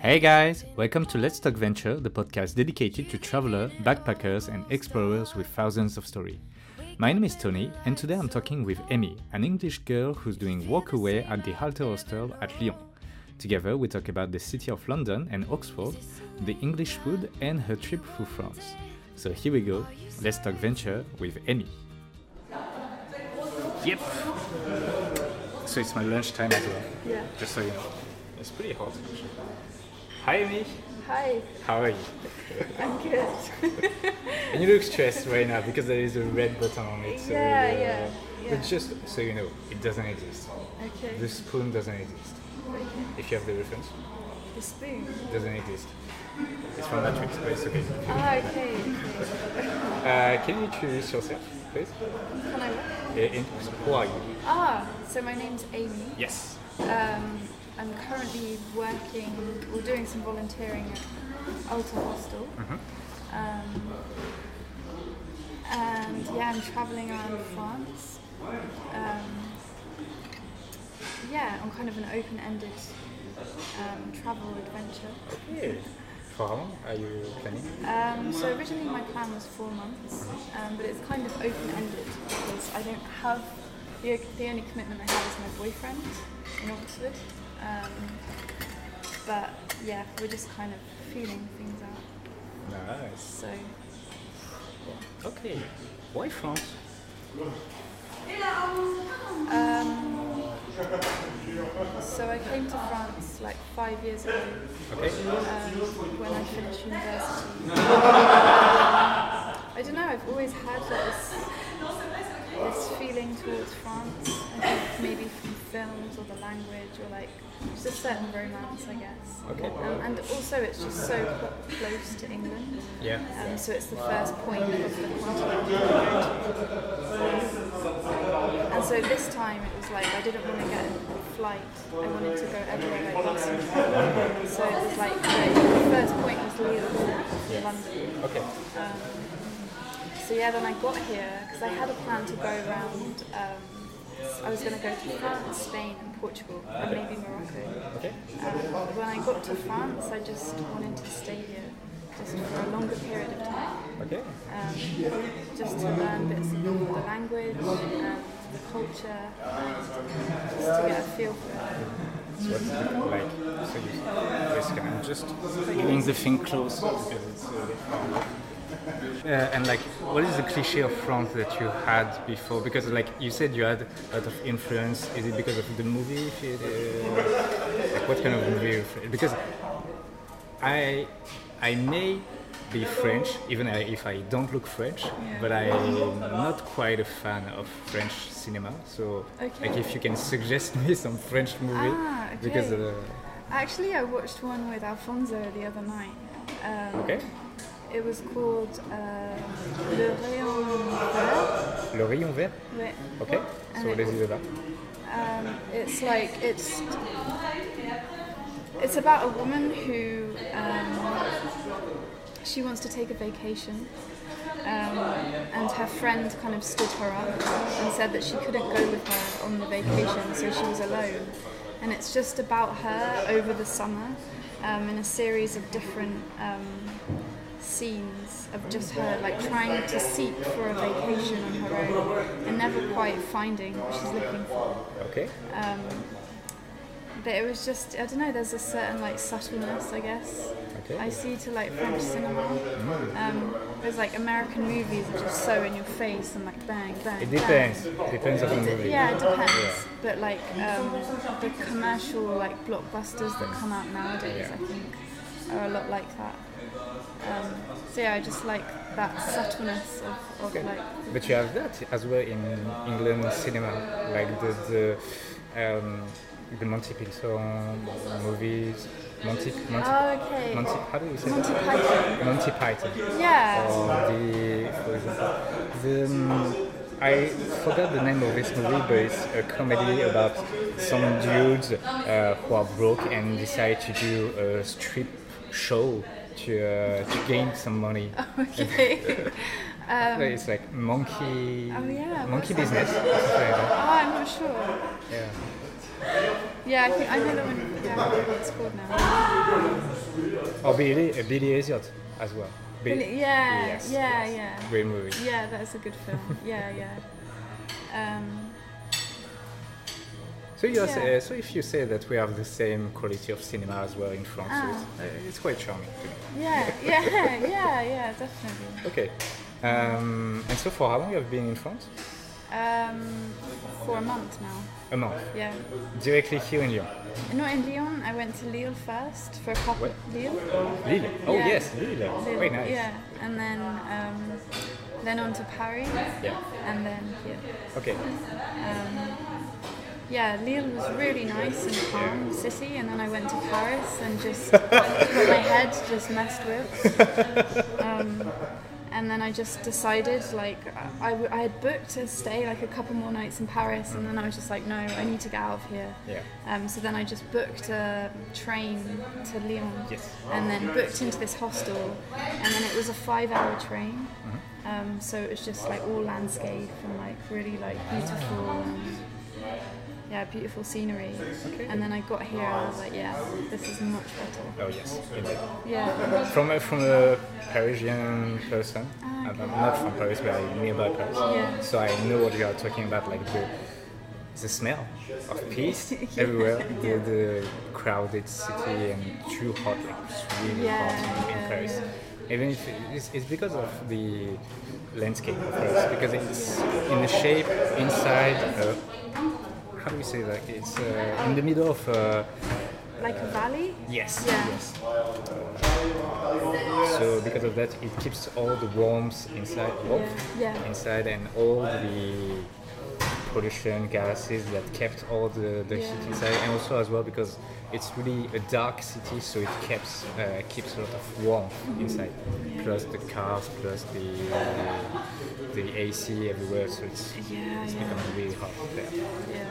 Hey guys, welcome to Let's Talk Venture, the podcast dedicated to travelers, backpackers, and explorers with thousands of stories. My name is Tony, and today I'm talking with Amy, an English girl who's doing walkaway at the Halter Hostel at Lyon. Together, we talk about the city of London and Oxford, the English food, and her trip through France. So here we go, Let's Talk Venture with Amy. Yep. So it's my lunchtime as well. Yeah. Just so you know. It's pretty hot. Hi Amy. Hi. How are you? I'm good. And you look stressed right now because there is a red button on it. So Yeah. But just so you know, it doesn't exist. Okay. The spoon doesn't exist. Okay. If you have the reference, The spoon. it doesn't exist. It's from Matrix, but it's okay. Okay. Can you introduce yourself, please? Can I what? Who are you? So my name's Amy. Yes. I'm currently working or doing some volunteering at Alta Hostel. And yeah, I'm travelling around France. On kind of an open-ended travel adventure. Okay. For how long are you planning? So originally my plan was 4 months, but it's kind of open-ended because I don't have, the only commitment I have is my boyfriend in Oxford. But yeah, we're just kind of feeling things out. Nice. So Okay. Why France? So I came to France like 5 years ago Okay. when I finished university. I don't know, I've always had this feeling towards France. I think maybe from films or the language or like just a certain romance, I guess. Okay. And also it's just so close to England. Yeah. So it's the first point of the continent to go to. And so this time it was like I didn't want to get a flight. I wanted to go everywhere like possible. So it was like the first point was Lyon, London. Okay. So yeah, then I got here because I had a plan to go around. I was going to go to France, Spain, and Portugal, and maybe Morocco. Okay. But when I got to France, I just wanted to stay here, just for a longer period of time. Okay. Just to learn bits of the language and the culture, and just to get a feel for it. So what's it like? So you basically I'm just getting the thing close because it's a bit far away. And like, what is the cliche of France that you had before? Because like you said, you had a lot of influence. Is it because of the movie? Like what kind of movie? Because I may be French, even if I don't look French, but I'm not quite a fan of French cinema. So like if you can suggest me some French movie, Okay. because Actually, I watched one with Alfonso the other night. okay, It was called Le Rayon Vert. Le Rayon Vert. Ouais. Okay, so what is it about? It's like it's about a woman who she wants to take a vacation, and her friend kind of stood her up and said that she couldn't go with her on the vacation, so she was alone. And it's just about her over the summer, in a series of different scenes of just her like trying to seek for a vacation on her own and never quite finding what she's looking for. Okay. But it was just, I don't know, there's a certain like subtleness, I guess. Okay. I see to like French cinema. There's like American movies are just so in your face and like bang, bang, It bang. depends on the movie. Yeah, it depends. But like the commercial like blockbusters that come out nowadays, I think, are a lot like that. So yeah, I just like that subtleness of like. But you have that as well in England cinema, like the Monty Python movies, Monty, Oh, okay. how do you say Monty that? Python. Monty Python. Yeah. Or for example, I forgot the name of this movie, but it's a comedy about some dudes who are broke and decide to do a strip show to gain some money. Okay. It's like monkey Oh, yeah, monkey what's business. Or something like that. Oh, I'm not sure. Yeah. Yeah, I know the one. Yeah, I forget what it's called now. Or Billy Elliot as well. Yes, Yeah. Great movie. Yeah, that's a good film. Yeah. So so if you say that we have the same quality of cinema as well in France, so it's quite charming to me. Yeah, definitely. Okay. And so for how long you have been in France? For a month now. A month. Yeah. Directly here in Lyon. Not in Lyon. I went to Lille first for a couple. What? Lille. Lille. Oh Yeah. yes, Lille. Very nice. Yeah, and then on to Paris. Yeah. And then here. Okay. Yeah, Lille was really nice and calm city, and then I went to Paris and just got my head just messed with. And then I just decided, like, I had booked to stay like a couple more nights in Paris, and then I was just like, no, I need to get out of here. Yeah. So then I just booked a train to Lyon, Yes. and then booked into this hostel, and then it was a 5-hour train. So it was just like all landscape and like really like beautiful. Beautiful scenery. Okay. And then I got here and I was like, yeah, this is much better. Oh yes, indeed. Yeah. From a Parisian person, I'm not from Paris, but I'm nearby Paris. Yeah. So I know what you are talking about, like the smell of peace everywhere, the crowded city and too hot, like it's really hot in Paris. Yeah. Even if it's because of the landscape of Paris, because it's in the shape inside. How do we say that? It's in the middle of. Like a valley? Yes. Yeah. Yes. So because of that, it keeps all the warmth inside, inside, and all the pollution gases that kept all the heat inside, and also as well because it's really a dark city, so it keeps a lot of warmth inside. Plus the cars, plus the AC everywhere, so it's becoming really hot there. Yeah.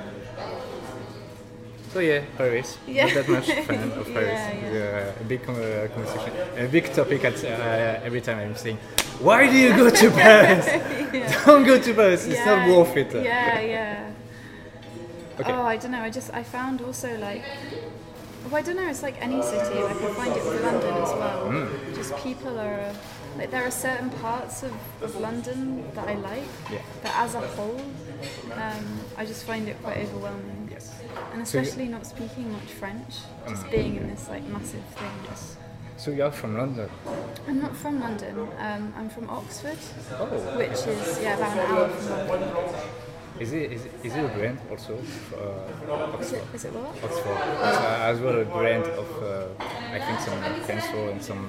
So yeah, Paris. Yeah. Not that much fan of Paris. Yeah. A big conversation, a big topic at every time I'm saying, why do you go to Paris? Don't go to Paris. It's not worth it. Yeah. Okay. Oh, I don't know. I found also like. Well, I don't know. It's like any city. Like I find it with London as well. Just people are like there are certain parts of London that I like, but as a whole, I just find it quite overwhelming. Yes. And especially not speaking much French, just being in this like massive thing. Yes. So you're from London? I'm not from London. I'm from Oxford, Oh. which is about an hour from London. Is it a brand also? Oxford. Is it what? Oxford. It's as well a brand of I think some pencil and some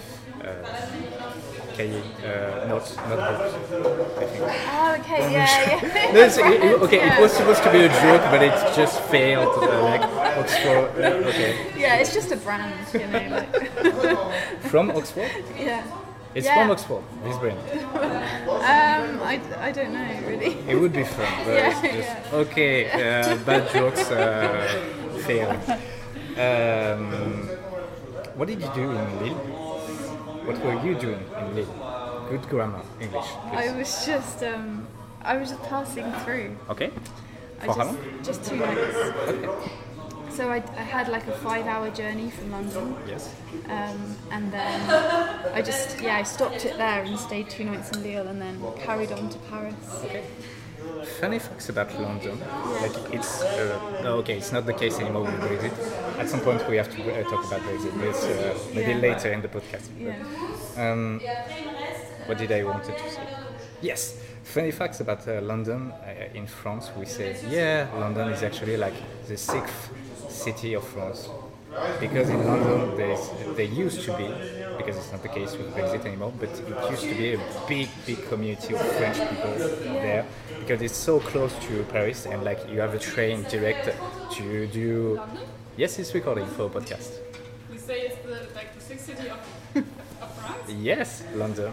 notebooks. I think. Oh, okay, yeah. No, it was supposed to be a joke, but it just failed. Like Oxford. Okay. Yeah, it's just a brand, you know. Like. From Oxford? Yeah. It's from Oxford, this brand. I don't know really. It would be fun, but it's just okay. Bad jokes failed. What did you do in Lille? What were you doing in Lille? Good grammar, English. Please. I was just passing through. Okay. For how long? Just 2 nights. Okay. So I had like a 5-hour journey from London. Yes. And then I stopped it there and stayed 2 nights in Lille and then carried on to Paris. Okay. Funny facts about London. Like it's it's not the case anymore with Brexit. At some point we have to talk about Brexit. But maybe later in the podcast. Yeah. What did I wanted to say? Yes. Funny facts about London. In France, we say, London is actually like the 6th city of France. Because in London, there used to be, because it's not the case with Brexit anymore, but it used to be a big community of French people there. Because it's so close to Paris, and like you have a train direct to do. Yes, it's recording for a podcast. You say it's the 6th city of France? Yes, London.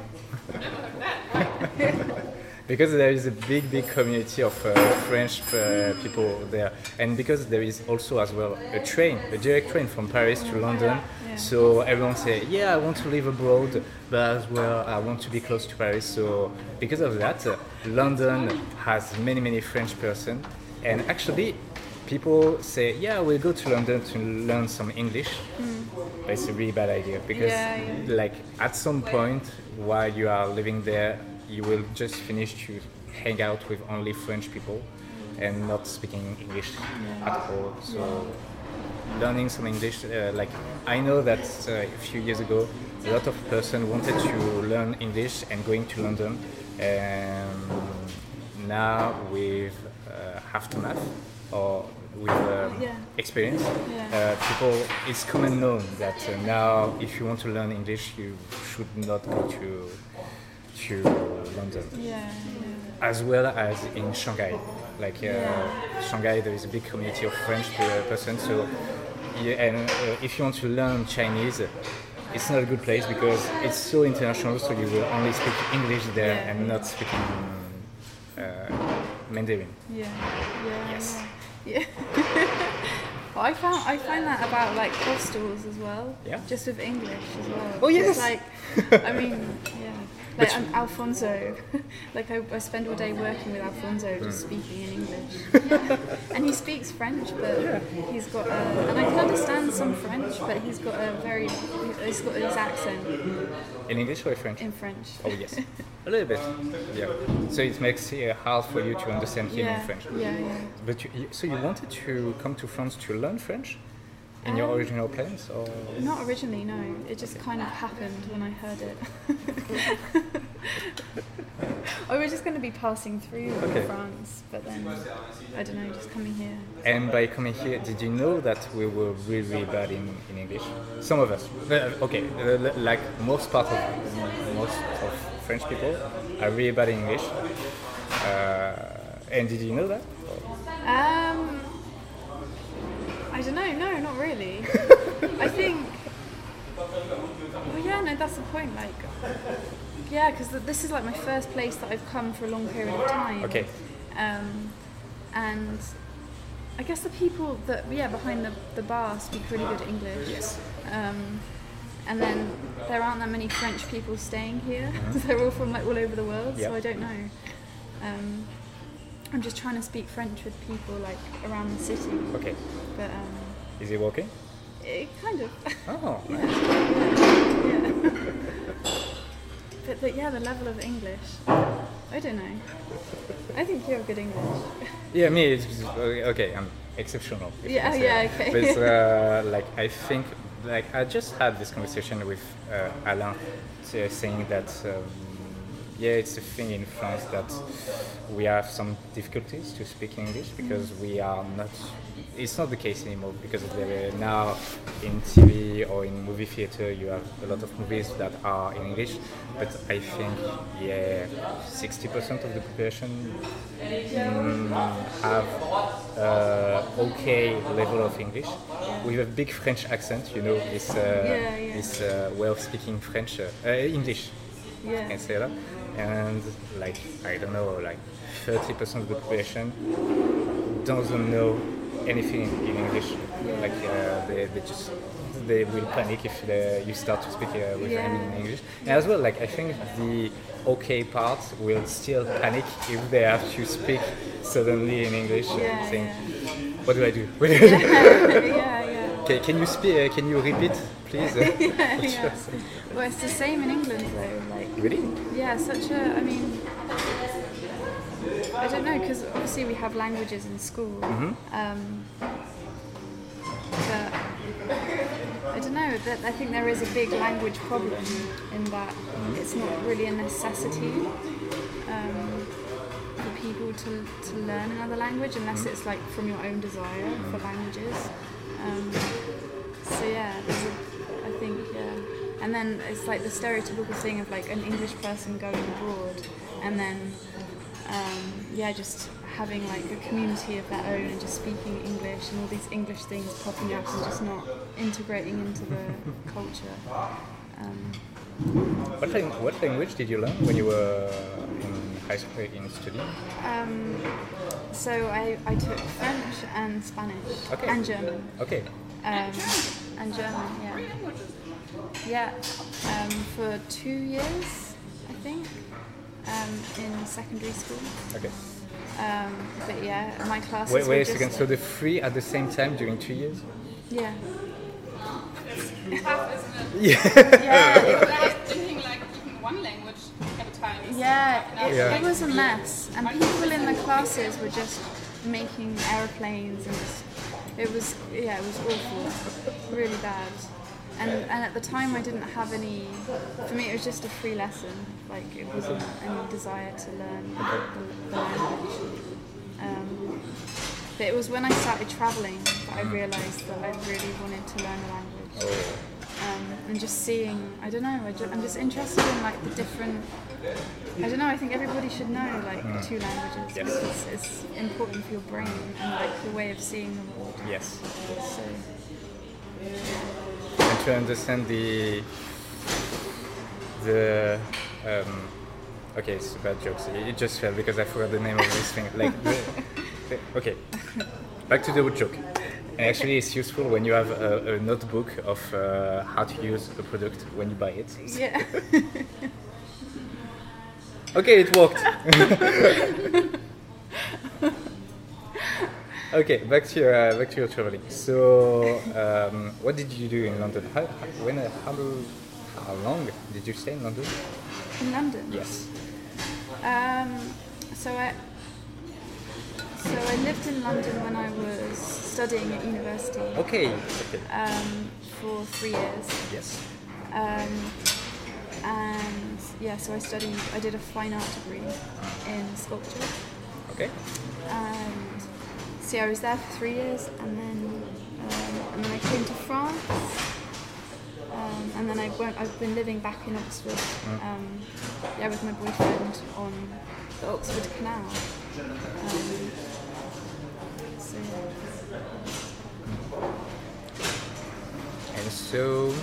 Because there is a big community of French people there, and because there is also as well a direct train from Paris to London, so everyone say, I want to live abroad, but as well I want to be close to Paris. So because of that, London has many French person, and actually people say, yeah, we'll go to London to learn some English. But it's a really bad idea because, like, at some point while you are living there, you will just finish to hang out with only French people and not speaking English at all. So learning some English, like, I know that a few years ago, a lot of person wanted to learn English and going to London. Now with aftermath or with experience, people, it's common known that now if you want to learn English, you should not go to London. As well as in Shanghai. Like Shanghai, there is a big community of French person. So, if you want to learn Chinese, it's not a good place because it's so international. So you will only speak English there and not speaking Mandarin. Yes. Well, I find that about like hostels as well. Yeah. Just with English as well. Oh yes. It's like, I mean, like Alfonso, like I spend all day working with Alfonso, just speaking in English. And he speaks French, but he's got and I can understand some French, but he's got his accent. In English or in French? In French. Oh yes, a little bit. Yeah. So it makes it hard for you to understand him in French. Yeah. But so you wanted to come to France to learn French? In your original plans, or? Not originally, no. It just kind of happened when I heard it. I was just going to be passing through France, but then, I don't know, just coming here. And by coming here, did you know that we were really, really bad in English? Some of us. Like most of French people are really bad in English. And did you know that? I don't know, no, not really. I think, no, that's the point, like, because this is like my first place that I've come for a long period of time. Okay. And I guess the people that, behind the bar speak really good English. Yes. And then there aren't that many French people staying here. They're all from like all over the world, so I don't know. I'm just trying to speak French with people like around the city. Okay. But is it working? It kind of. Oh. But the level of English, I don't know. I think you have good English. Yeah, me, it's okay. I'm exceptional. Okay. But like I think, like I just had this conversation with Alain, saying that. It's a thing in France that we have some difficulties to speak English because we are not. It's not the case anymore because now in TV or in movie theater you have a lot of movies that are in English, but I think 60% of the population have okay level of English with a big French accent. You know this way of speaking French English. Yeah. Can say that. And like I don't know, like 30% of the population doesn't know anything in English. Like they will panic if you start to speak with them in English. And as well, like I think the okay part will still panic if they have to speak suddenly in English, saying, "What do I do?" Okay, can you speak? Can you repeat, please? Well, it's the same in England though. Like really? Yeah, I mean, I don't know, because obviously we have languages in school. But I don't know. I think there is a big language problem in that it's not really a necessity for people to learn another language unless it's like from your own desire for languages. I think. And then it's like the stereotypical thing of like an English person going abroad and then just having like a community of their own and just speaking English and all these English things popping up and just not integrating into the culture. What language did you learn when you were in high school in studying? So I took French and Spanish and German. Okay. And German, for 2 years, I think, in secondary school. Okay. But yeah, my classes Wait were a just second. So the three at the same time during 2 years? yeah. It's tough, isn't it? Yeah, I was thinking like even one language at a time. is yeah, tough enough. it was a mess, and people in the classes were just making aeroplanes, and it was awful, really bad. And at the time I didn't have any. For me, it was just a free lesson. Like it wasn't any desire to learn the language. But it was when I started traveling that I realised that I really wanted to learn the language. And just seeing, I don't know, I'm just interested in like the different. I don't know. I think everybody should know like 2 languages because it's important for your brain and like your way of seeing the world. Yes. So And to understand the okay, it's bad jokes. It just fell because I forgot the name of this thing. Like okay, back to the joke. And actually, it's useful when you have a notebook of how to use a product when you buy it. yeah. Okay, it worked. Okay, back to your traveling. So, what did you do in London? How long did you stay in London? In London. Yes. So I lived in London when I was studying at university. Okay. For 3 years. Yes. And yeah, so I did a fine art degree in sculpture. Okay. And so yeah, I was there for 3 years, and then I came to France. And then I've been living back in Oxford, with my boyfriend on the Oxford Canal. So yeah. And so,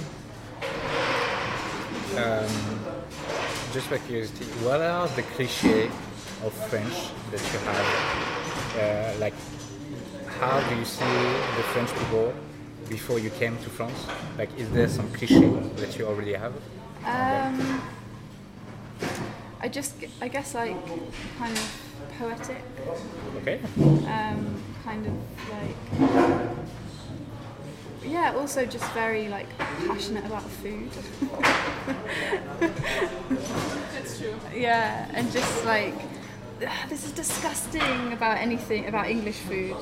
just by curiosity, what are the clichés of French that you have? Like, how do you see the French people before you came to France? Like, is there some cliché that you already have? I guess like kind of poetic, Okay. kind of like, yeah, also just very like passionate about food. That's true. Yeah, and just like, this is disgusting about anything, about English food.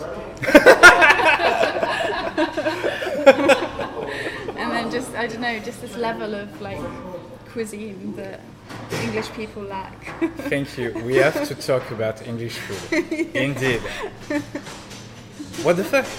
And then just, I don't know, just this level of like cuisine that English people lack. Thank you. We have to talk about English food. Indeed. What the fuck?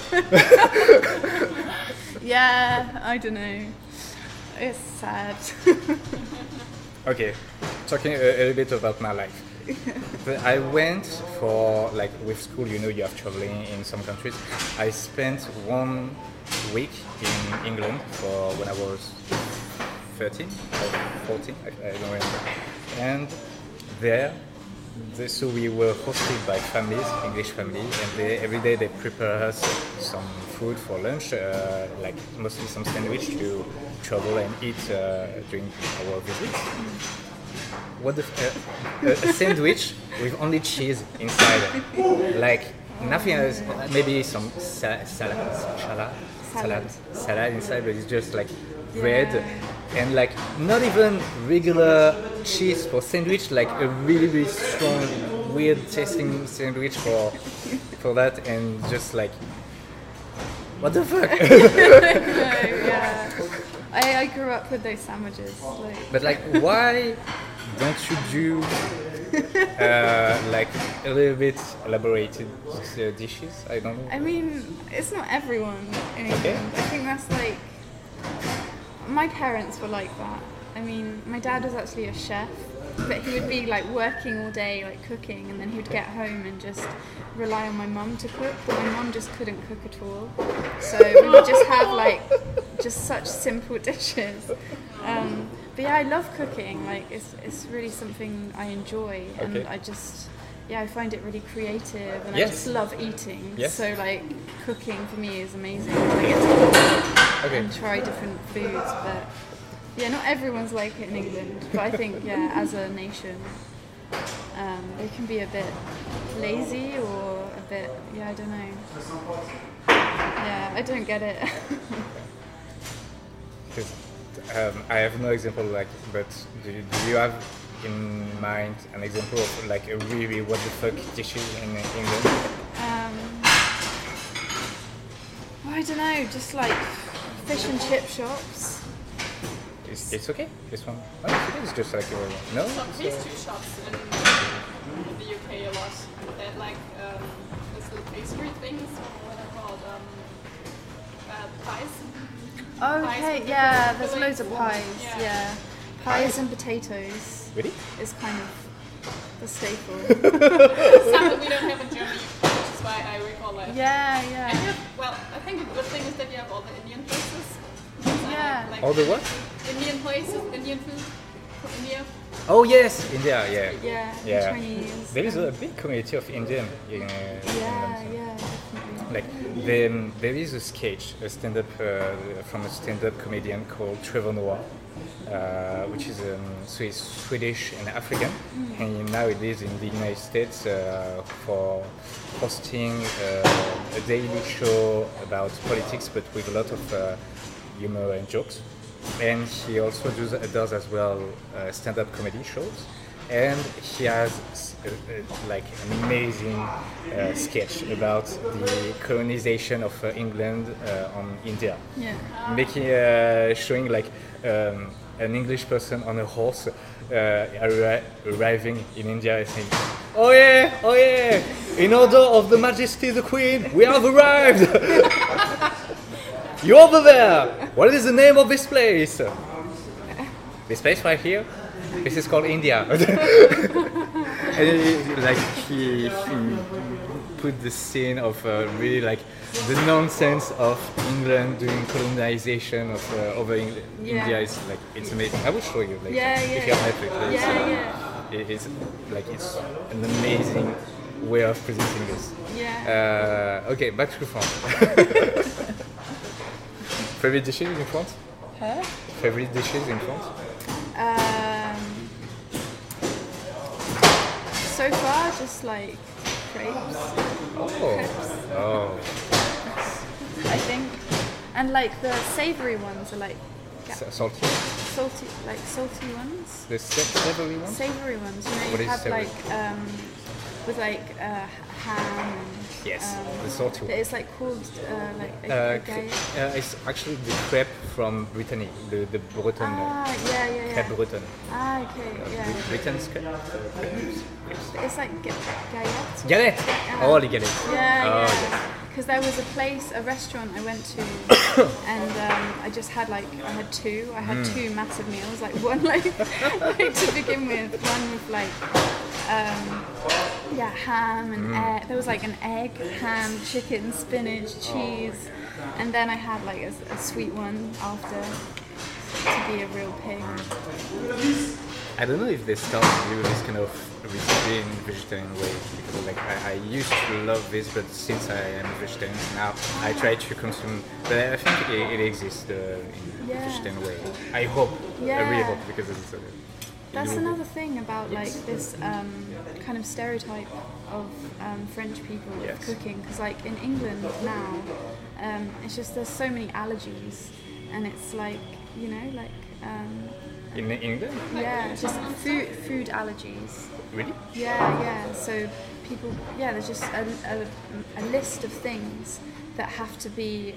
Yeah, I don't know. It's sad. Okay, talking a little bit about my life. I went for, like, with school, you know, you have traveling in some countries. I spent 1 week in England for when I was 13 or 14, I don't remember. And there, so we were hosted by families, English families, and every day they prepare us some food for lunch, like mostly some sandwich to travel and eat during our visits. What a sandwich with only cheese inside, like nothing else. Maybe some salad inside, but it's just like bread and like not even regular cheese for sandwich, like a really strong, weird tasting sandwich for that, and just like, what the fuck? Yeah. I grew up with those sandwiches. But like, why don't you do like a little bit elaborated dishes? I don't know. I mean, it's not everyone in England. Okay. I think that's like, my parents were like that. I mean, my dad was actually a chef, but he would be like working all day, like cooking, and then he would get home and just rely on my mum to cook. But my mum just couldn't cook at all, so we would just have like just such simple dishes. But yeah, I love cooking. Like it's really something I enjoy, and Okay. I find it really creative, and Yes. I just love eating. Yes. So like cooking for me is amazing. I get to cook and try different foods, but yeah, not everyone's like it in England. But I think as a nation, they can be a bit lazy or a bit, I don't know. Yeah, I don't get it. Because I have no example but do you have in mind an example of like a really what the fuck dishes in England? I don't know, just like fish and chip shops. It's okay. This one. Oh, it is just like no. Some pastry shops in the UK a lot. They have like these little pastry things, what are called pies. Okay, with yeah, different there's loads of fillings. pies. Yeah. Yeah, pies and potatoes Really? is kind of the staple. Something we don't have in Germany, which is why I recall it. Yeah, And you yeah, have, well, I think a good thing is that you have all the Indian places. Yeah. Like All the what? Indian places, Indian food from India. Oh yes, India. Yeah. yeah, Yeah. Chinese. There is a big community of Indian in Yeah, London. yeah, definitely. Like there is a sketch, a stand-up from a stand-up comedian called Trevor Noah, which is so he's Swedish and African, and now he lives in the United States for hosting a daily show about politics, but with a lot of humor and jokes. And he also does as well stand-up comedy shows. And he has like an amazing sketch about the colonization of England on India, Yeah. making showing like an English person on a horse arriving in India and saying, oh yeah, in order of the Majesty the Queen, we have arrived. You over there, what is the name of this place? This place right here. This is called India. And he put the scene of really like the nonsense of England doing colonization of over India is like it's amazing. I will show you later if you have Netflix. It's like it's an amazing way of presenting this. Yeah. Okay, back to France. Favorite dishes in France? Huh? Favorite dishes in France? So far, just like crepes, Oh. I think, and like the savoury ones are like Salty? salty ones. The savory one? Savoury ones, you know, What you is have savoury? like with like ham and Yes, the salty one. it's like called like a galette. It's actually the crepe from Brittany, the Breton. Yeah. Crepe Breton. Okay, yeah. Britain's crepe. But it's like galette. Galette! Oh, the galette. Yeah, Oh, yeah. Because there was a restaurant I went to, and I just had I had two. I had two massive meals, like one like to begin with, one with ham and egg. There was like an egg, ham, chicken, spinach, cheese, and then I had like a sweet one after to be a real pig. I don't know if they started with this kind of recipe in vegetarian way, because like I used to love this, but since I am vegetarian now, I try to consume. But I think it exists in vegetarian way. I hope. I really hope, because it's. That's another thing about like this kind of stereotype of French people Yes. of cooking, because like in England now, it's just there's so many allergies, and it's like In England? just food allergies. Really? Yeah. So people, there's just a list of things that have to be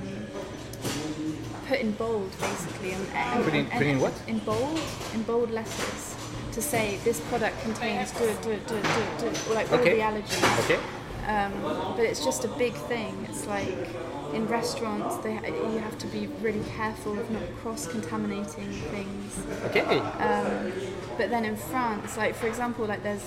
put in bold, basically. Put in what? In bold letters, to say this product contains or like all Okay. the allergies. Okay. But it's just a big thing. It's like in restaurants, you have to be really careful of not cross-contaminating things. Okay. But then in France, like for example, like there's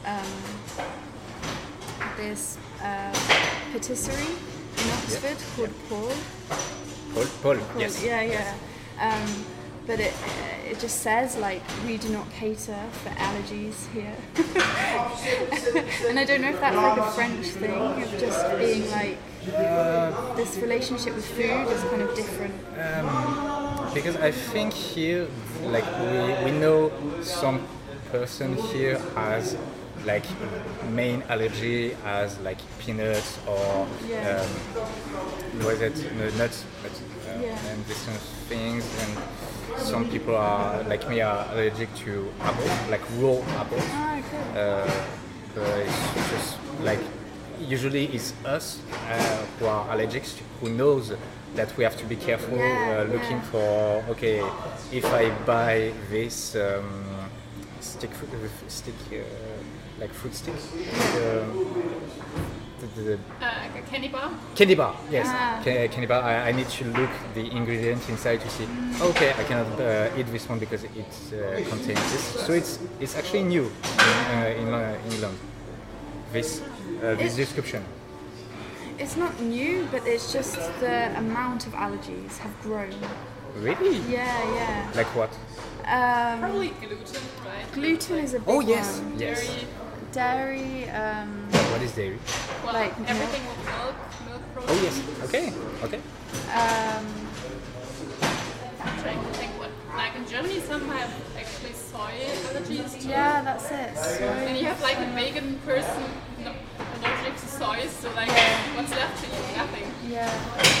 this patisserie in Oxford called Paul. Yes. Yeah. But it just says like we do not cater for allergies here. And I don't know if that's like a French thing of just being like this relationship with food is kind of different. Because I think here, like we know some person here has like main allergy as like peanuts or Yeah. what is it, nuts, Yeah. and these kind of things. And some people are like me are allergic to apple, like raw apples. Ah, cool. But it's just like usually it's us who are allergic who knows that we have to be careful Yeah, looking yeah. for okay if I buy this like fruit stick the A candy bar. candy bar, yes. Ah. Candy bar. I need to look the ingredients inside to see. Okay, I cannot eat this one because it contains this. So it's actually new in England. This description. It's not new, but it's just the amount of allergies have grown. Really? Yeah. Like what? Probably gluten, right? Gluten is a big Oh yes, one. yes. Dairy. Dairy, What is dairy? Well, Like everything with milk protein. Oh yes. Okay. I'm trying to think what. Like in Germany, some have actually soy allergies too. yeah, that's it. And you Soy. have like a vegan person allergic to soy, so like what's left to eat? Nothing. Yeah.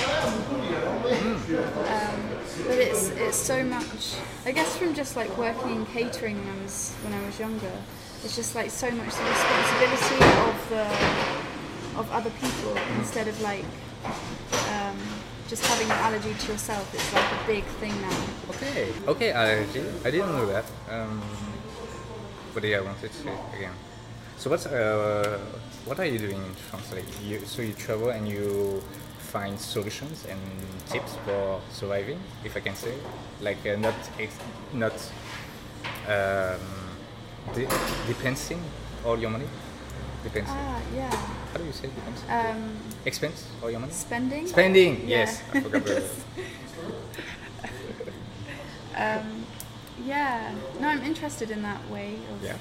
But it's so much. I guess from just like working in catering when I was younger, it's just like so much the responsibility of other people instead of like just having an allergy to yourself. It's like a big thing now. Okay. Allergy. I didn't know that. But yeah, I wanted to say again. So what are you doing in France? Like you travel and you find solutions and tips for surviving, if I can say, like depensing all your money. Depensing. Yeah. How do you say depensing? Expense all your money. Spending. Spending. Yeah. Yes, I forgot the word. Yeah. No, I'm interested in that way of Yeah.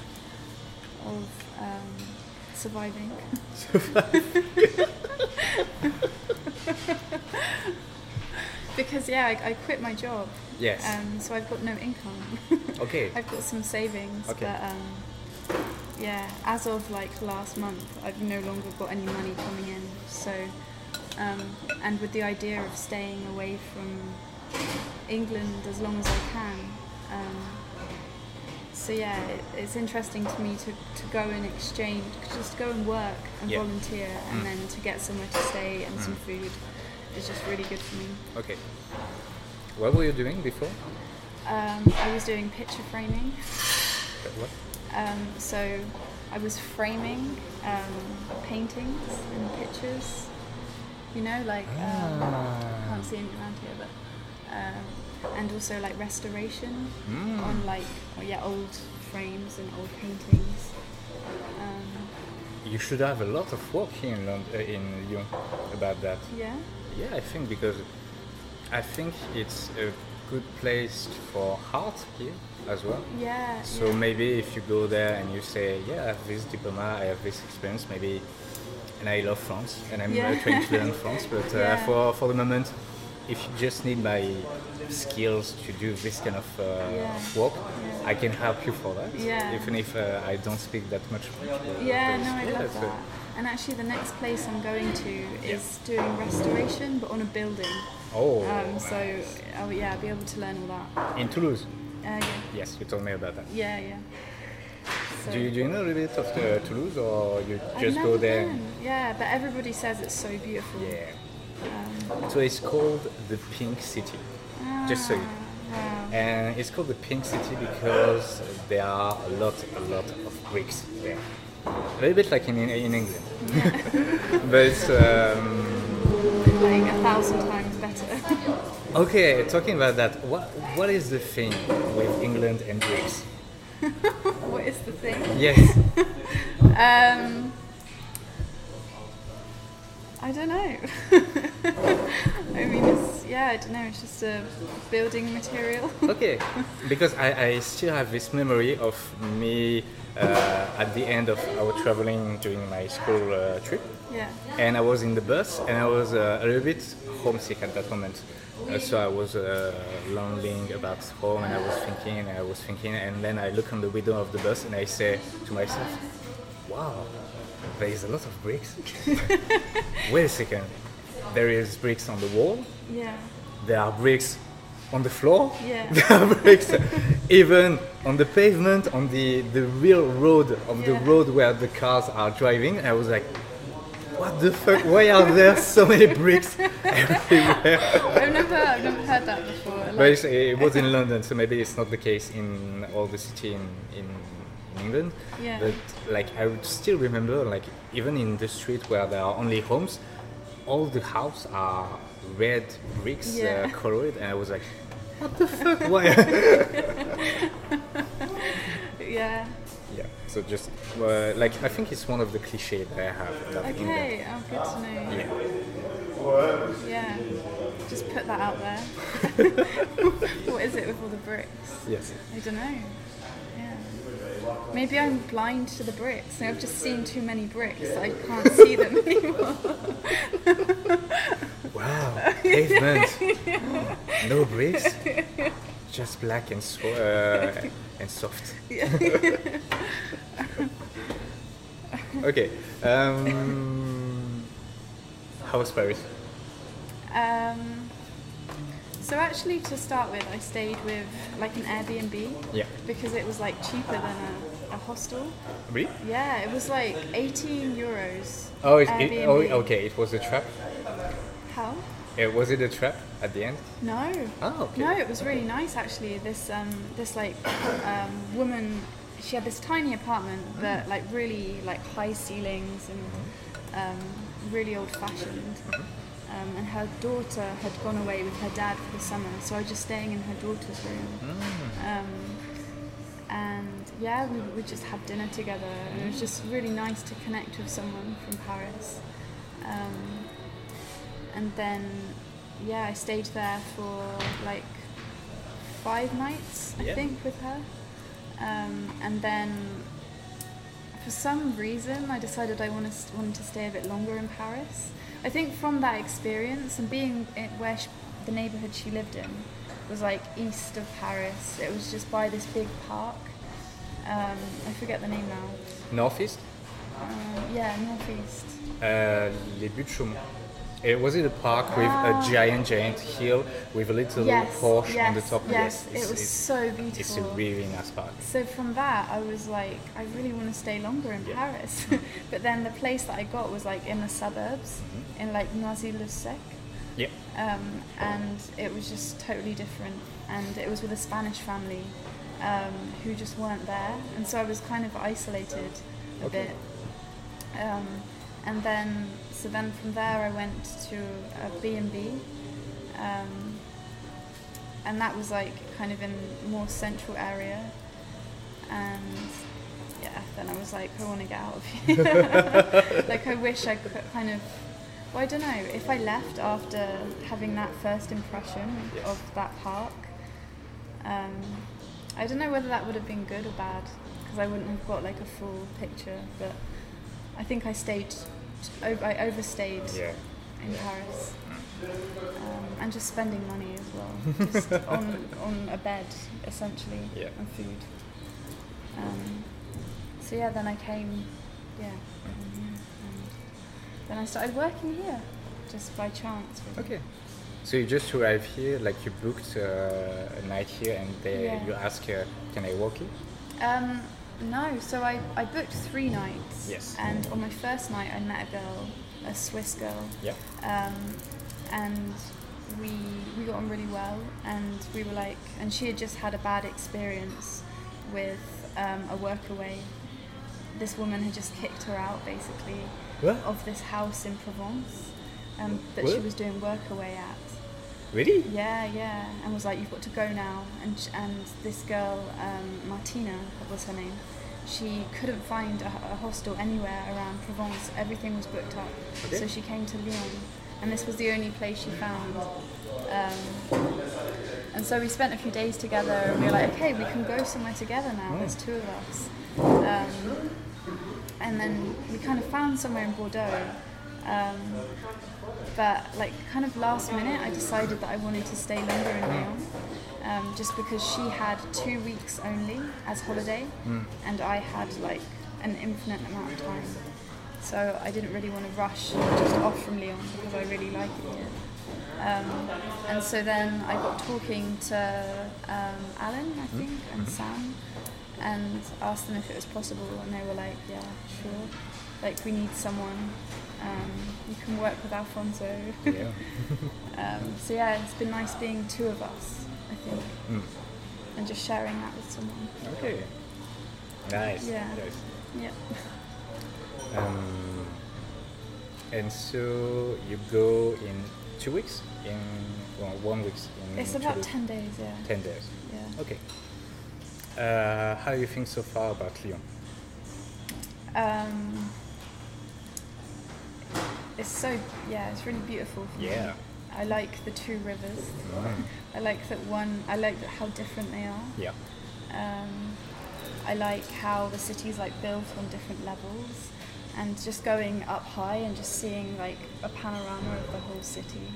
surviving. Because I quit my job. Yes. So I've got no income. Okay. I've got some savings, Okay. but as of like last month, I've no longer got any money coming in. So, and with the idea of staying away from England as long as I can. So it's interesting to me to go and exchange, just go and work and Yeah. volunteer, and then to get somewhere to stay and some food is just really good for me. Okay. What were you doing before? I was doing picture framing. What? So I was framing paintings and pictures. You know, like can't see anything around here, but and also like restoration on like old frames and old paintings. You should have a lot of work here in Lyon about that. Yeah. Yeah, I think because I think it's a good place for art here as well. Yeah. So maybe if you go there and you say, yeah, I have this diploma, I have this experience, maybe, and I love France, and I'm trying to learn France, but for the moment, if you just need my skills to do this kind of work, I can help you for that, even if I don't speak that much French. Yeah, no, I love that. And actually the next place I'm going to is doing restoration, but on a building. Oh. So I'll be able to learn all that. In Toulouse? Yeah. Yes, you told me about that. Yeah. So Do you know a little bit of Toulouse, or you I've just never go there? been. Yeah, but everybody says it's so beautiful. Yeah. So it's called the Pink City, just so you know. Wow. And it's called the Pink City because there are a lot of bricks there. A little bit like in England. But it's... Like 1,000 times better. Okay, talking about that, what is the thing with England and bricks? What is the thing? Yes. I don't know. I mean, I don't know, it's just a building material. Okay, because I still have this memory of me at the end of our traveling during my school trip. Yeah. And I was in the bus and I was a little bit homesick at that moment. So I was lonely about home and I was thinking and then I look on the window of the bus and I say to myself, wow, there is a lot of bricks. Wait a second. There is bricks on the wall. Yeah. There are bricks on the floor. Yeah. There are bricks even on the pavement, on the real road of the Yeah. road where the cars are driving. I was like, what the fuck? Why are there so many bricks everywhere? I've never heard that before. But it was in London, so maybe it's not the case in all the city in England. Yeah. But like I would still remember, like even in the street where there are only homes, all the houses are red bricks, Yeah. colored, and I was like, what the fuck? Why? Yeah. Yeah. So just like I think it's one of the cliches that I have about England. Okay. Oh, good to know. Yeah. Yeah. Just put that out there. What is it with all the bricks? Yes. I don't know. Yeah. Maybe I'm blind to the bricks. I've just seen too many bricks. I can't see them anymore. Wow. Pavement. No bricks. Just black and and soft. Okay. How was Paris? So actually, to start with, I stayed with like an Airbnb Yeah. because it was like cheaper than a hostel. Really? Yeah, it was like 18 euros. Oh, Airbnb. Okay. It was a trap. How? Was it a trap at the end? No. Oh, okay. No, it was really nice actually. This woman, she had this tiny apartment, but like really like high ceilings and really old-fashioned. And her daughter had gone away with her dad for the summer, so I was just staying in her daughter's room. And yeah, we just had dinner together, and it was just really nice to connect with someone from Paris. And then, yeah, I stayed there for like 5 nights, I Yeah. think, with her. And then, for some reason, I decided I wanted to stay a bit longer in Paris. I think from that experience and being where the neighborhood she lived in was like east of Paris. It was just by this big park. I forget the name now. Northeast? Yeah, northeast. Les Buttes Chaumont. Was it a park with a giant hill with a little Porsche on the top? Yes, it was so beautiful. It's a really nice park. So from that, I was like, I really want to stay longer in Paris. But then the place that I got was like in the suburbs, in like Noisy-le-Sec. Yeah. And it was just totally different. And it was with a Spanish family who just weren't there. And so I was kind of isolated a bit. And then from there I went to a B&B, and that was like kind of in a more central area, and yeah, then I was like, I want to get out of here. Like I wish I could kind of, well, I don't know, if I left after having that first impression of that park, I don't know whether that would have been good or bad, because I wouldn't have got like a full picture, but I think I overstayed in Paris, and just spending money as well, just on a bed essentially, and food. So yeah, then I came, and then I started working here, just by chance. Really. Okay. So you just arrived here, like you booked a night here, and you asked, can I walk here? No, so I booked 3 nights. Yes. And on my first night I met a girl, a Swiss girl. Yeah. And we got on really well, and we were like, and she had just had a bad experience with a workaway. This woman had just kicked her out basically of this house in Provence that she was doing workaway at. Really? Yeah, and was like, you've got to go now. And this girl, Martina was her name, she couldn't find a hostel anywhere around Provence. Everything was booked up. Okay. So she came to Lyon, and this was the only place she found. And so we spent a few days together, and we were like, okay, we can go somewhere together now. There's 2 of us. And then we kind of found somewhere in Bordeaux. But like kind of last minute, I decided that I wanted to stay longer in Lyon, just because she had 2 weeks only as holiday, and I had like an infinite amount of time. So I didn't really want to rush just off from Lyon because I really like it here. And so then I got talking to Alan, I think, and Sam, and asked them if it was possible, and they were like, yeah, sure. Like, we need someone. You can work with Alfonso. Yeah. So yeah, it's been nice being two of us, I think, and just sharing that with someone. Okay. Nice. Yeah. Nice. Yeah. And so you go in 2 weeks? In 1 week? It's about 10 days, yeah. 10 days. Yeah. Okay. How do you think so far about Lyon? It's it's really beautiful for me. Yeah. I like the two rivers. I like how different they are. Yeah. I like how the city's like built on different levels, and just going up high and just seeing like a panorama of the whole city.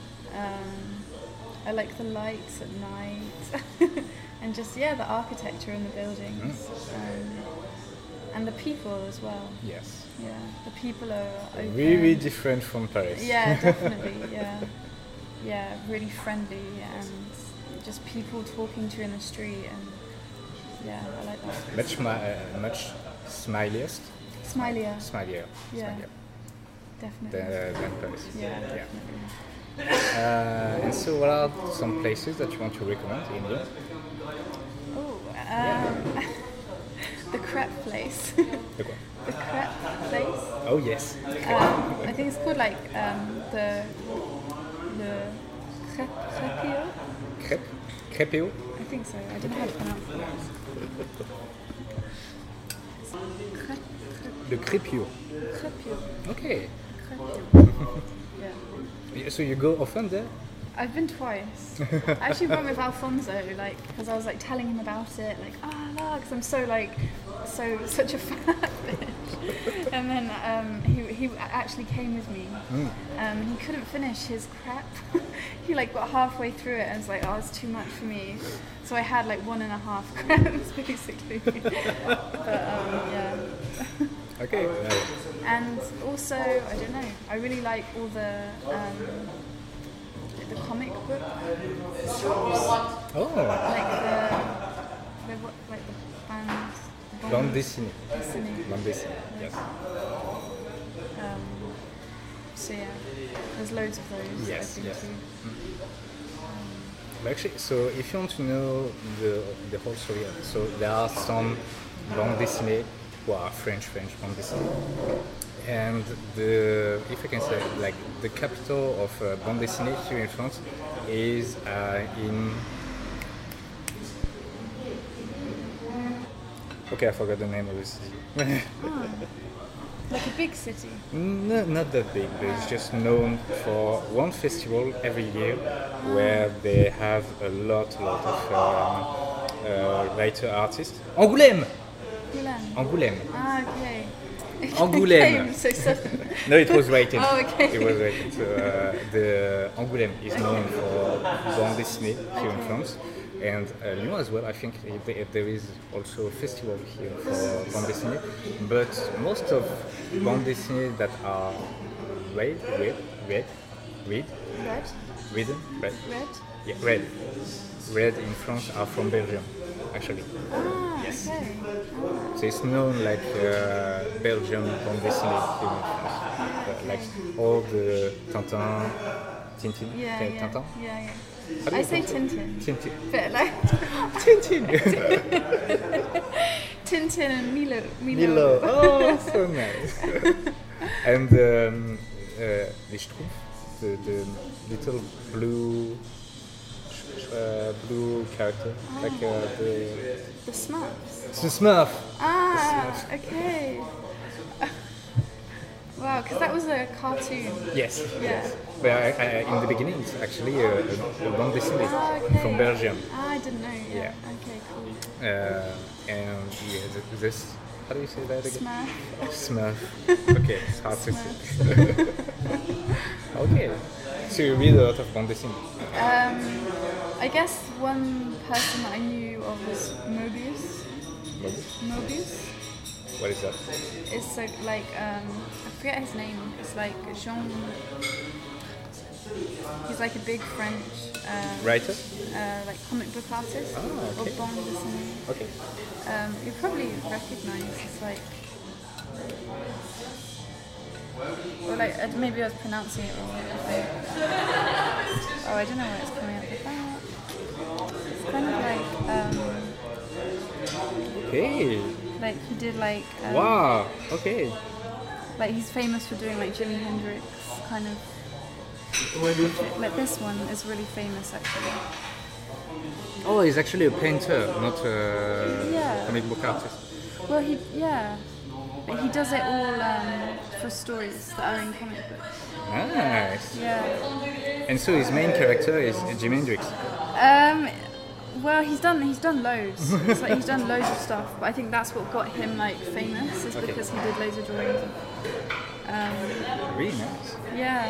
I like the lights at night, and just the architecture in the buildings, and the people as well. Yes. Yeah, the people are open. Really different from Paris. Yeah, definitely. Yeah, really friendly, and just people talking to you in the street, and I like that. Much smiliest. Smilier. Smilier. Yeah. Smilier. Definitely. Than Paris. Yeah, definitely. And so, what are some places that you want to recommend in Lyon? Oh, the crepe place. The quoi? The crepe place. Oh yes. I think it's called like the crepio. Crepe? Crepeo? I think so. I don't know how to pronounce it. The crepio. Crepio. Okay. Crepio. Yeah. So you go often there? I've been twice. I actually went with Alfonso, like, because I was like telling him about it, like, because I'm such a fat bitch. And then he actually came with me. He couldn't finish his crepe. He like got halfway through it and was like, it's too much for me. So I had like 1.5 crepes basically. But yeah. Okay. And also, I don't know, I really like all the comic book shops. Oh. Like the band. Bande dessinée. Dessinée. Bande dessinée. Yes. So yeah, there's loads of those. Yes, I've been yes. to. But actually, so if you want to know the whole story, so there are some bande dessinée who are French bande dessinée. And if I can say, like the capital of bande dessinée here in France is in. Okay, I forgot the name of the city. Like a big city. No, not that big, but it's just known for one festival every year where they have a lot of writer artists. Angoulême! Angoulême. Ah, okay. Angoulême. So sudden. No, it was rated. Oh, okay. It was rated. So the Angoulême is known for bande dessinée here in France. And Lyon as well, I think there is also a festival here for bande dessinée. But most of bande dessinée that are red. Yeah, red in France are from Belgium, actually. Yes. Okay. So it's known like Belgium bande dessinée here in France. Like all the Tintin. Tintin? Yeah. I say Tintin. Tintin. But like Tintin. Tintin and Milo. Milo. Oh, so nice. And les Schtroumpfs, the little blue character, like The Smurfs. the Smurf. Okay. Wow, because that was a cartoon. Yes. Yeah. Yes. But in the beginning, it's actually a bande dessinée Okay. from Belgium. I didn't know. Yeah. Yeah. Okay, cool. And this, how do you say that again? Smurf. Smurf. Okay, it's hard to say. Okay. So you read a lot of bande dessinée. I guess one person that I knew of was Mobius. Mobius? Mobius? What is that? It's like I forget his name. It's like Jean. He's like a big French Writer? like comic book artist. Ah, okay. Or bande dessinée. Okay. You probably recognize. It's like. Or like maybe I was pronouncing it wrong. Oh, I don't know where it's coming up with that. It's kind of like Okay. like he did like Wow. Okay. like he's famous for doing like Jimi Hendrix kind of like this one is really famous actually. Oh, he's actually a painter, not a Yeah. comic book artist. Well, but he does it all for stories that are in comic books. Nice. Yeah. And so his main character is Jimi Hendrix. Well, he's done loads. It's like he's done loads of stuff, but I think that's what got him like famous is Okay. because he did loads of drawings. Really nice. Yeah.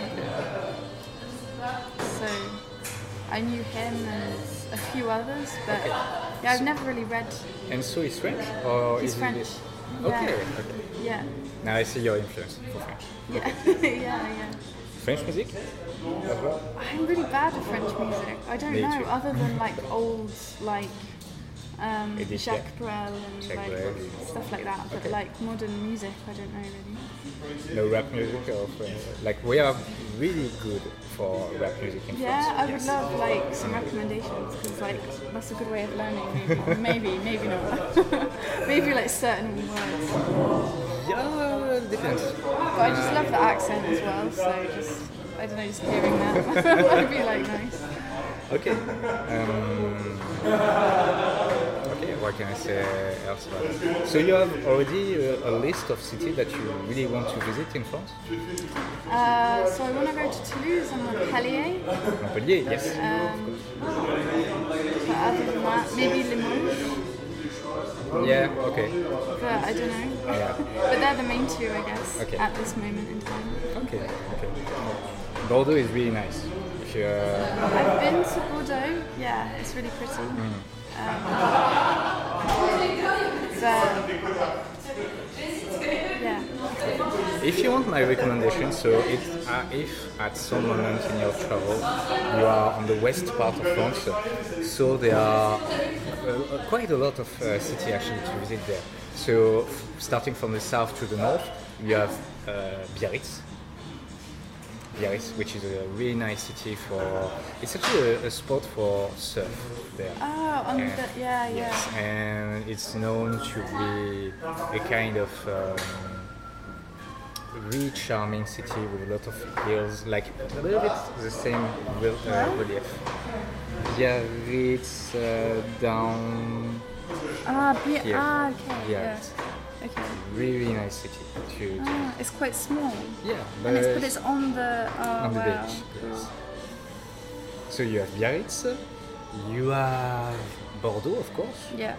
So I knew him and a few others, but yeah, I've never really read. And so he's French? Or He's is French. He... Yeah. Okay. Yeah. Now I see your influence for French. Yeah. yeah. French music? As well? I'm really bad at French music. I don't Me know, too. other than like old, like Edith Jacques Piaf. Brel and Jacques like Brel. stuff like that. But Okay. like modern music, I don't know really. No rap music or like we are really good for rap music in Yeah, France. I would love like some recommendations because like that's a good way of learning. Maybe not. Maybe like certain words. Yeah, it depends. But I just love the accent as well. So just I don't know, just hearing that would be like nice. Okay. Okay, what can I say else about it? So you have already a list of cities that you really want to visit in France? So I want to go to Toulouse and Montpellier. Montpellier, yes. But other than that, maybe Limoges. Yeah, okay. But I don't know. Yeah. But they're the main two, I guess, Okay. at this moment in time. Okay, okay. Bordeaux is really nice. If you, I've been to Bordeaux. Yeah, it's really pretty. Yeah. if you want my recommendation, so if at some moment in your travel you are on the west part of France, so there are quite a lot of cities actually to visit there. So starting from the south to the north, you have Biarritz. Biarritz, which is a really nice city for. It's actually a spot for surf there. Oh, on And- the yeah. Yes, and it's known to be a kind of really charming city with a lot of hills, like a little bit the same relief. Biarritz down. Okay. Yeah. Yeah. Okay. Really nice city to It's quite small. yeah, But it's on the on the wow. beach. Cool. Yes. So you have Biarritz, you have Bordeaux, of course. Yeah.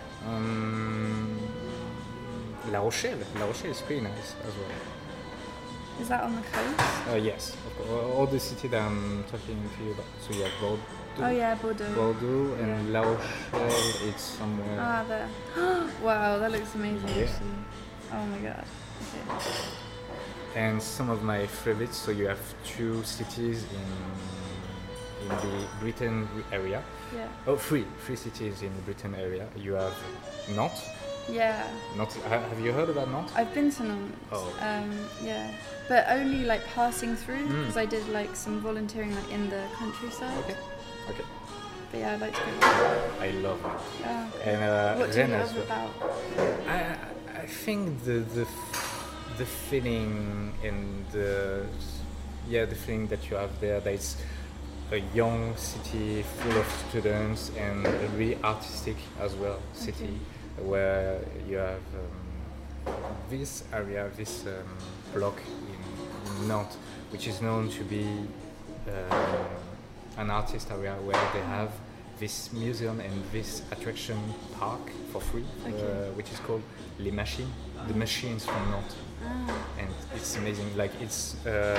La Rochelle. La Rochelle is pretty nice as well. Is that on the coast? Yes, of course. All the city that I'm talking to you about. So you have Bordeaux, Oh yeah, Bordeaux. Bordeaux and La Rochelle. It's somewhere. Ah, there. Wow, that looks amazing Yeah. actually. Oh my god. Okay. And some of my favorites. So you have two cities in the Britain area. Yeah. Oh, three cities in the Britain area. You have Nantes. Yeah. Have you heard about Nantes? I've been to Nantes. Oh. Yeah. But only like passing through because I did like some volunteering like in the countryside. Okay. Okay. But yeah, I'd like to go there. I love it. Oh, okay. And What do you then as love well. about? I think the feeling and the feeling that you have there, that it's a young city full of students and a really artistic as well city where you have this area, this block in Nantes, which is known to be an artist area where they have this museum and this attraction park for free, which is called Les Machines, the machines from Nantes. And it's amazing, like it's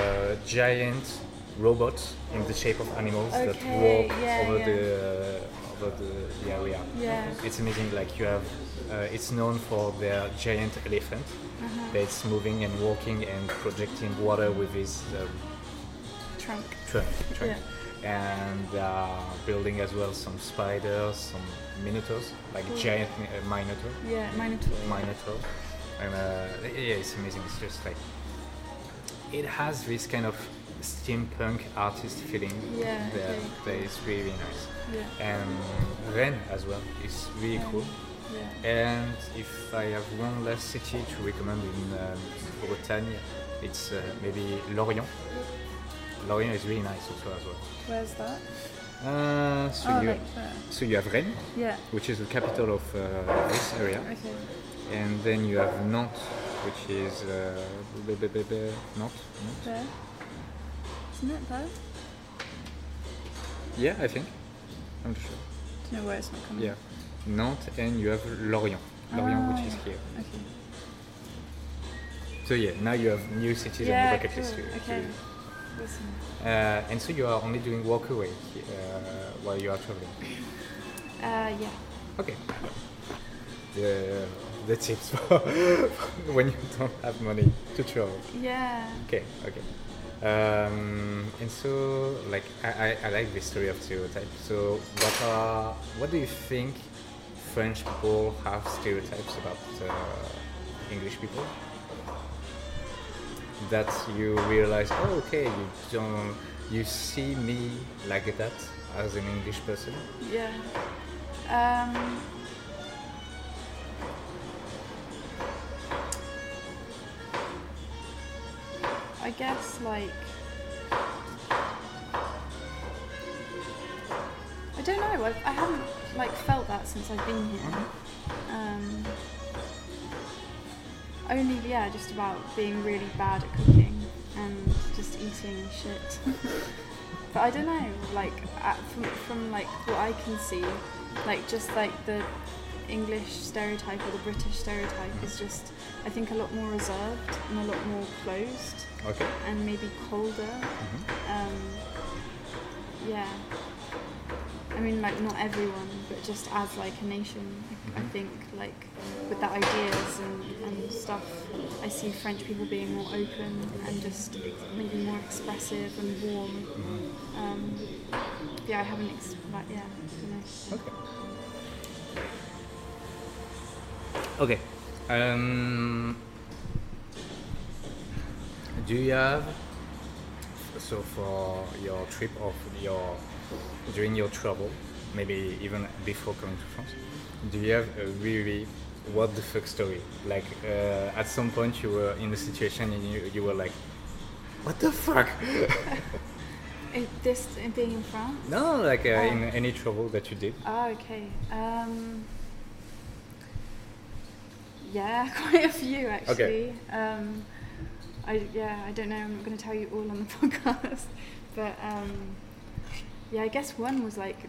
giant robots in the shape of animals that Okay, walk yeah, over yeah. the over the area. Yeah. It's amazing. Like you have, it's known for their giant elephant that's moving and walking and projecting water with his Trunk. trunk. Yeah. And building as well some spiders, some minotaurs, like giant minotaur. Yeah, Minotaur. Minotaur. And yeah, it's amazing. It's just like it has this kind of steampunk artist feeling. Yeah, that is really nice. Yeah. And Rennes as well is really cool. Yeah. And if I have one last city to recommend in Bretagne, it's maybe Lorient. Lorient is really nice also as well. Where's that? So you have Rennes, Yeah. which is the capital of this area, Okay. and then you have Nantes, which is Nantes. There. Isn't it there? Yeah, I think. I'm not sure. Do you know where it's not coming? Yeah, Nantes, and you have Lorient, which is here. Okay. So yeah, now you have new cities Yeah, on your bucket list. cool. to Okay. do. Listen. And so you are only doing walk away while you are traveling. Yeah. Okay. The tips for when you don't have money to travel. Yeah. Okay. And so, like, I like the story of stereotypes. So, what do you think French people have stereotypes about English people? That you realize, oh, okay, you see me like that as an English person. Yeah. I guess like I don't know. I haven't like felt that since I've been here. Only just about being really bad at cooking and just eating shit. But I don't know. Like from like what I can see, like just like the English stereotype or the British stereotype is just, I think, a lot more reserved and a lot more closed. Okay. And maybe colder. Yeah. I mean, like, not everyone, but just as like a nation, I think, like, with the ideas and stuff, I see French people being more open and just maybe more expressive and warm. I haven't, I don't know. Okay. Do you have, so for your trip during your travel, maybe even before coming to France, do you have a really what the fuck story? Like at some point you were in a situation and you were like, what the fuck? Being in France? No, like in any travel that you did. Oh, okay. Yeah, quite a few actually. Okay. I don't know. I'm not going to tell you all on the podcast, but I guess one was like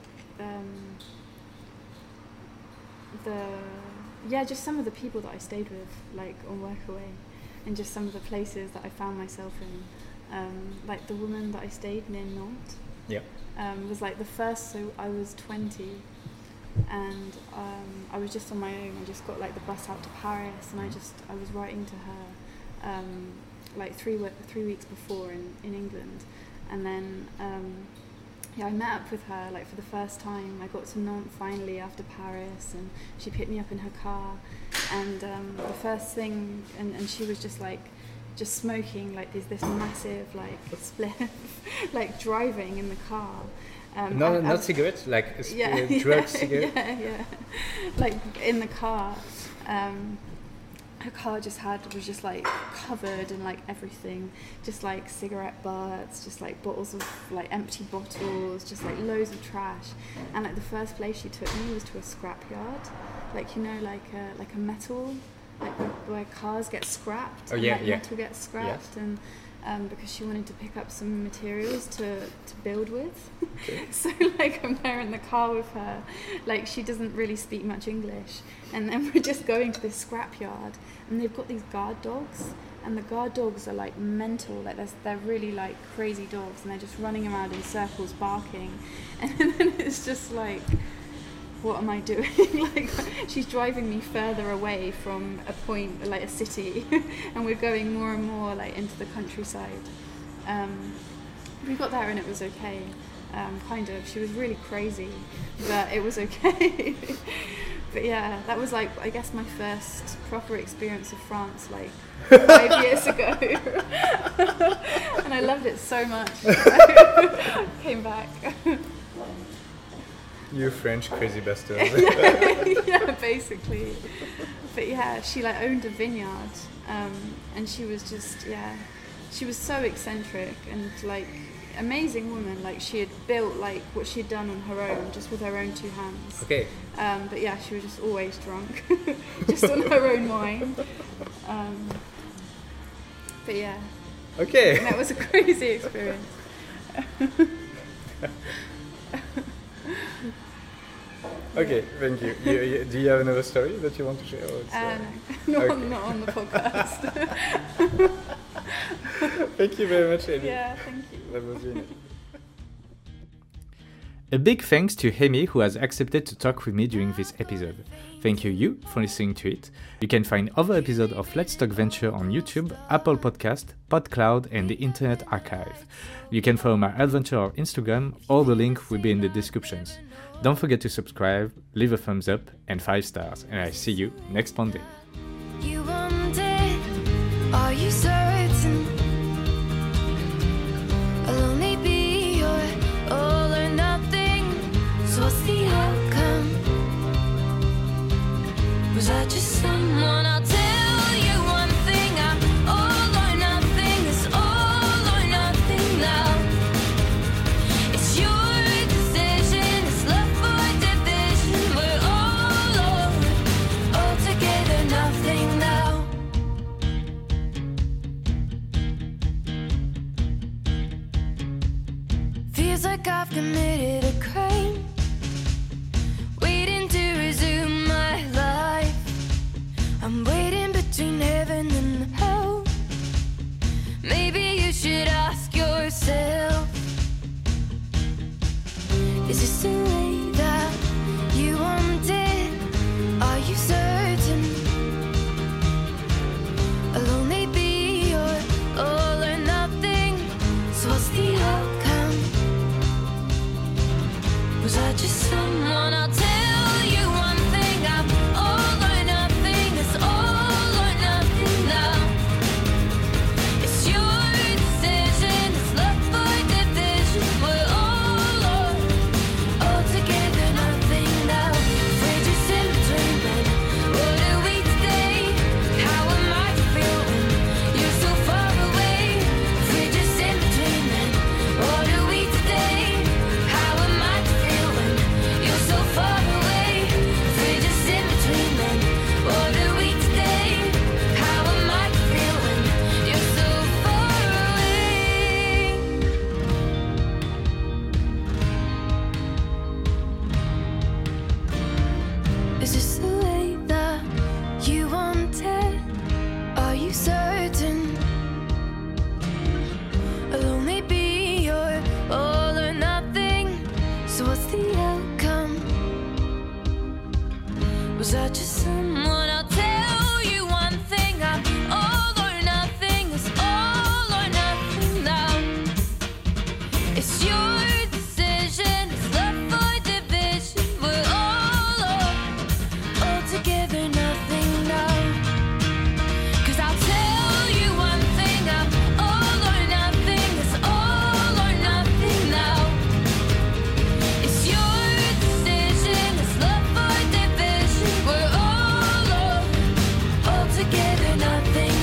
just some of the people that I stayed with, like on Workaway, and just some of the places that I found myself in. Like the woman that I stayed near Nantes. Yeah. Was like the first. So I was 20. And I was just on my own. I just got like the bus out to Paris, and I was writing to her like 3 weeks before in England, and then I met up with her like for the first time. I got to Nantes finally after Paris, and she picked me up in her car, and the first thing, and she was just smoking like this massive like spliff, like driving in the car. Not cigarettes, like drug cigarette. Yeah. Like in the car, her car was just like covered in like everything, just like cigarette butts, just like bottles of like empty bottles, just like loads of trash. And like the first place she took me was to a scrapyard, like like a metal, like where cars get scrapped. Metal gets scrapped, and because she wanted to pick up some materials to build with. Okay. So like I'm there in the car with her, like she doesn't really speak much English, and then we're just going to this scrapyard, and they've got these guard dogs, and the guard dogs are like mental, like they're really like crazy dogs, and they're just running around in circles barking, and then it's just like what am I doing? Like, she's driving me further away from a point, like a city, and we're going more and more like into the countryside. We got there and it was okay, kind of. She was really crazy, but it was okay. But yeah, that was like, I guess, my first proper experience of France, like 5 years ago. And I loved it so much. Came back. You French crazy bastard. Yeah, basically. But yeah, she like owned a vineyard, and she was just, yeah, she was so eccentric and like amazing woman. Like, she had built like what she'd done on her own, just with her own 2 hands. Okay. But yeah, she was just always drunk, just on her own wine. But yeah. Okay. And that was a crazy experience. Okay, thank you. Do you have another story that you want to share? Or No, okay. not on the podcast. Thank you very much, Amy. Yeah, thank you. That was really nice. A big thanks to Amy, who has accepted to talk with me during this episode. Thank you for listening to it. You can find other episodes of Let's Talk Venture on YouTube, Apple Podcast, PodCloud, and the Internet Archive. You can follow my adventure on Instagram. All the link will be in the descriptions. Don't forget to subscribe, leave a thumbs up, and 5 stars. And I see you next Monday. You wanted, are you certain? I'll only be your all or nothing. So what's the outcome? Was I just someone? I'll tell you one thing. I'm all or nothing. It's all or nothing now. It's your decision. It's love or division. We're all together, nothing now. Feels like I've committed a crime, waiting to resume my life. I'm waiting between heaven and hell. Maybe you should ask yourself, is this the way that you wanted? Are you certain? I'll only be your all or nothing. So what's the outcome? Was I just someone? I'll tell you one thing. I'm all or nothing. It's all or nothing now. It's your decision. It's love or division. We're all together, nothing now. We're just in between then. What are we today? How am I to feel when you're so far away? We're just in between then. What are we today? How am I to feel when you're so far away? We're just in between then. What are we today? How am I to feel when you're so far away? Is this the way that you wanted? Are you certain? I'll only be your all or nothing. So what's the outcome? Was I just someone? I'll tell you one thing. I'm all or nothing. It's all or nothing now. It's your decision. It's love or division. We're all together, nothing now. 'Cause I'll tell you one thing. I'm all or nothing. It's all or nothing now. It's your decision. It's love or division. We're all together, nothing